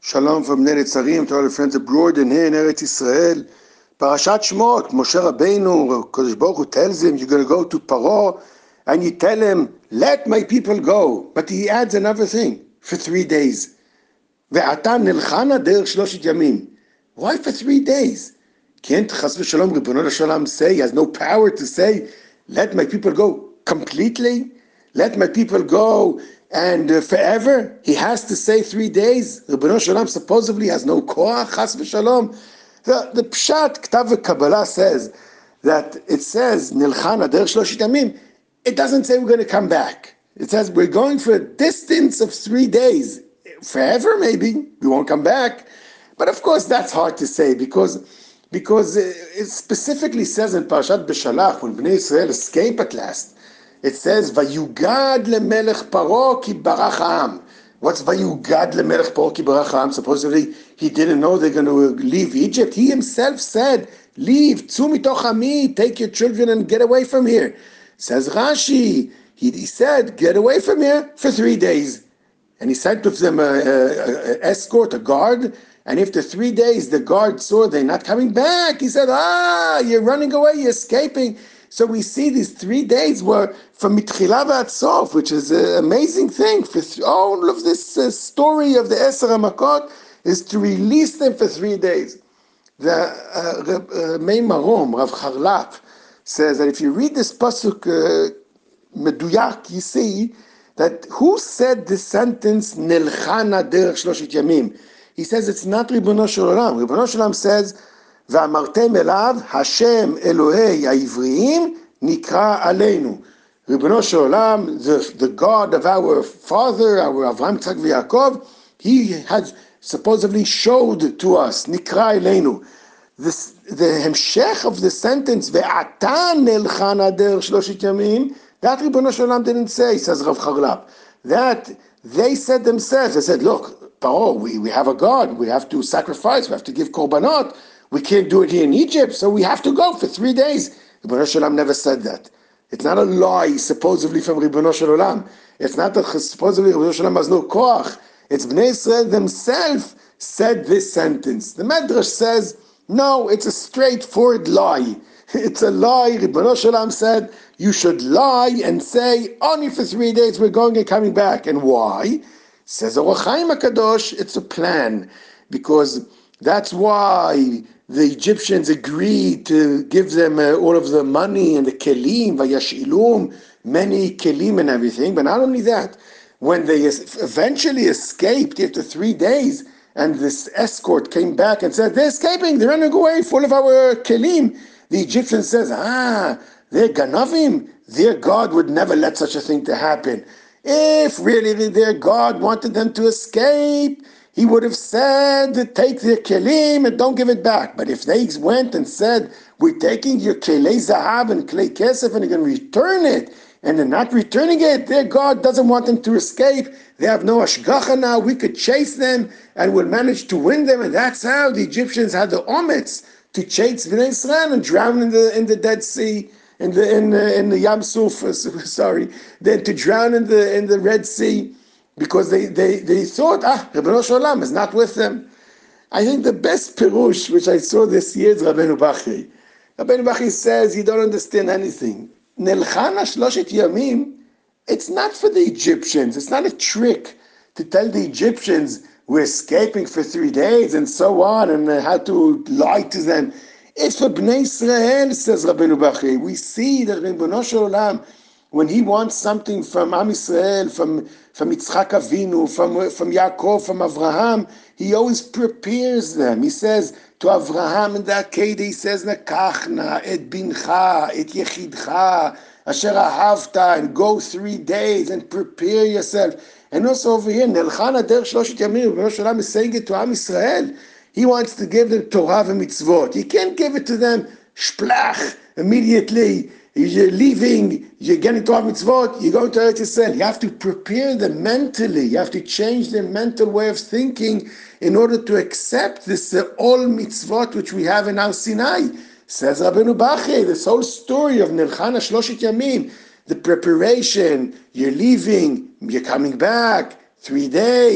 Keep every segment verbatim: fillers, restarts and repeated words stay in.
Shalom from Ner Etzarim to all the friends abroad and here in Eretz Israel. Parashat Shmot, Moshe Rabbeinu, Kodesh Baruch Hu tells him, you're going to go to Paro, and you tell him, let my people go. But he adds another thing, for three days. Ve'ata nilchana derech shloshet yamim. Why for three days? Can't Chas v'Shalom, Ribono Shalom say, he has no power to say, let my people go completely? Let my people go and uh, forever? He has to say three days. Ribono Shalom supposedly has no koach, Chas v'Shalom. The, the Pshat, Ktav v'Kabbalah says that it says, Nilchana derech shloshet yamim. It doesn't say we're going to come back. It says we're going for a distance of three days. Forever, maybe. We won't come back. But of course, that's hard to say because, because it specifically says in Parashat Beshalach, when Bnei Israel escape at last, it says, Vayugad lemelech Paro ki barach ha'am. What's Vayugad lemelech Paro ki barach ha'am? Supposedly, he didn't know they're going to leave Egypt. He himself said, leave, tzu mitoch ami, take your children and get away from here. Says Rashi, he, he said, get away from here for three days. And he sent with them an escort, a guard. And after three days, the guard saw they're not coming back. He said, ah, you're running away, you're escaping. So we see these three days were from Mitchila v'ad Sof, which is an amazing thing. For th- all of this uh, story of the Eser HaMakot is to release them for three days. The uh, Reb, uh, Mei Marom, Rav Charlap, says that if you read this pasuk uh, meduyak, you see that who said the sentence Nilchana derech shloshet yamim? He says it's not Ribono Shel Olam. Ribono Shel Olam says Ve'amartem elav Hashem Elohei ha'ivriim nikra aleinu. Ribono Shel Olam, the, the God of our father, our Avraham, Yitzchak v'Yaakov, he has supposedly showed to us nikra aleinu. This, the hemshech of the sentence ve'ata nilchana derech shloshet yamim, that Ribono Shel Olam didn't say, says Rav Charlap. That they said themselves. They said, look, Paro, we, we have a God. We have to sacrifice. We have to give korbanot. We can't do it here in Egypt, so we have to go for three days. Ribono Shel Olam never said that. It's not a lie, supposedly from Ribono Shel Olam. It's not that supposedly Ribono Shel Olam has no koach. It's Bnei Israel themselves said this sentence. The Medrash says, no, it's a straightforward lie. It's a lie. Ribono Shel Olam said, you should lie and say, only for three days we're going and coming back. And why? Says Or HaChaim HaKadosh, it's a plan. Because that's why the Egyptians agreed to give them uh, all of the money and the kelim, vayashilum, many kelim and everything. But not only that, when they eventually escaped after three days, and this escort came back and said, they're escaping, they're running away, full of our kelim. The Egyptian says, ah, they're ganavim. Their God would never let such a thing to happen. If really their God wanted them to escape, he would have said, take their kelim and don't give it back. But if they went and said, we're taking your kelei zahab and kelei kesef and you're going to return it, and they're not returning it, their God doesn't want them to escape. They have no ashgacha now. We could chase them and we'll manage to win them. And that's how the Egyptians had the ometz to chase Bnei Israel and drown in the in the Dead Sea, in the in the, in the Yam Suf. Uh, sorry, then to drown in the in the Red Sea, because they they they thought, ah, Ribono Shel Olam is not with them. I think the best pirush which I saw this year is Rabbeinu Bachri. Rabbeinu Bachri says you don't understand anything. Nilchana shloshet yamim, it's not for the Egyptians. It's not a trick to tell the Egyptians we're escaping for three days and so on, and uh, how to lie to them. It's for Bnei Israel, says Rabbeinu Bachri. We see that Ribono Shel Olam, when he wants something from Am Yisrael, from, from Yitzchak Avinu, from, from Yaakov, from Avraham, he always prepares them. He says to Avraham in the Akedah, he says, Nekachna, et bincha, et yechidcha, asher ahavta, and go three days and prepare yourself. And also over here, Nelchana derech shloshet yamim, Ribono Shel Olam is saying it to Am Yisrael. He wants to give them Torah and mitzvot. You can't give it to them shplach immediately. You're leaving, you're getting Torah mitzvot, you're going to Eretz Yisrael. You have to prepare them mentally. You have to change their mental way of thinking in order to accept this uh, all mitzvot which we have in our Sinai. Says Rabbeinu Bachri, this whole story of Nelchana shloshet yamim, the preparation, you're leaving, you're coming back, three days,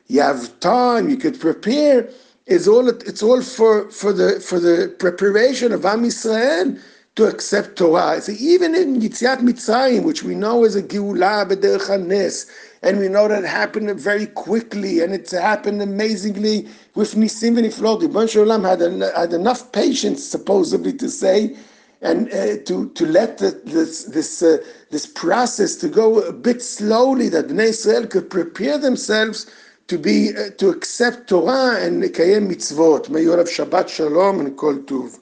you have time, you could prepare. It's all it's all for for the for the preparation of Am Yisrael to accept Torah. So even in Yitziat Mitzrayim, which we know is a Geulah b'derech hanes, and we know that it happened very quickly, and it happened amazingly with Nisim v'Niflot. Ribono Shel Olam had, an, had enough patience, supposedly, to say, and uh, to to let the, this this uh, this process to go a bit slowly, that Bnei Israel could prepare themselves to be uh, to accept Torah and לקיים mitzvot. May you have Shabbat Shalom and Kol Tuv.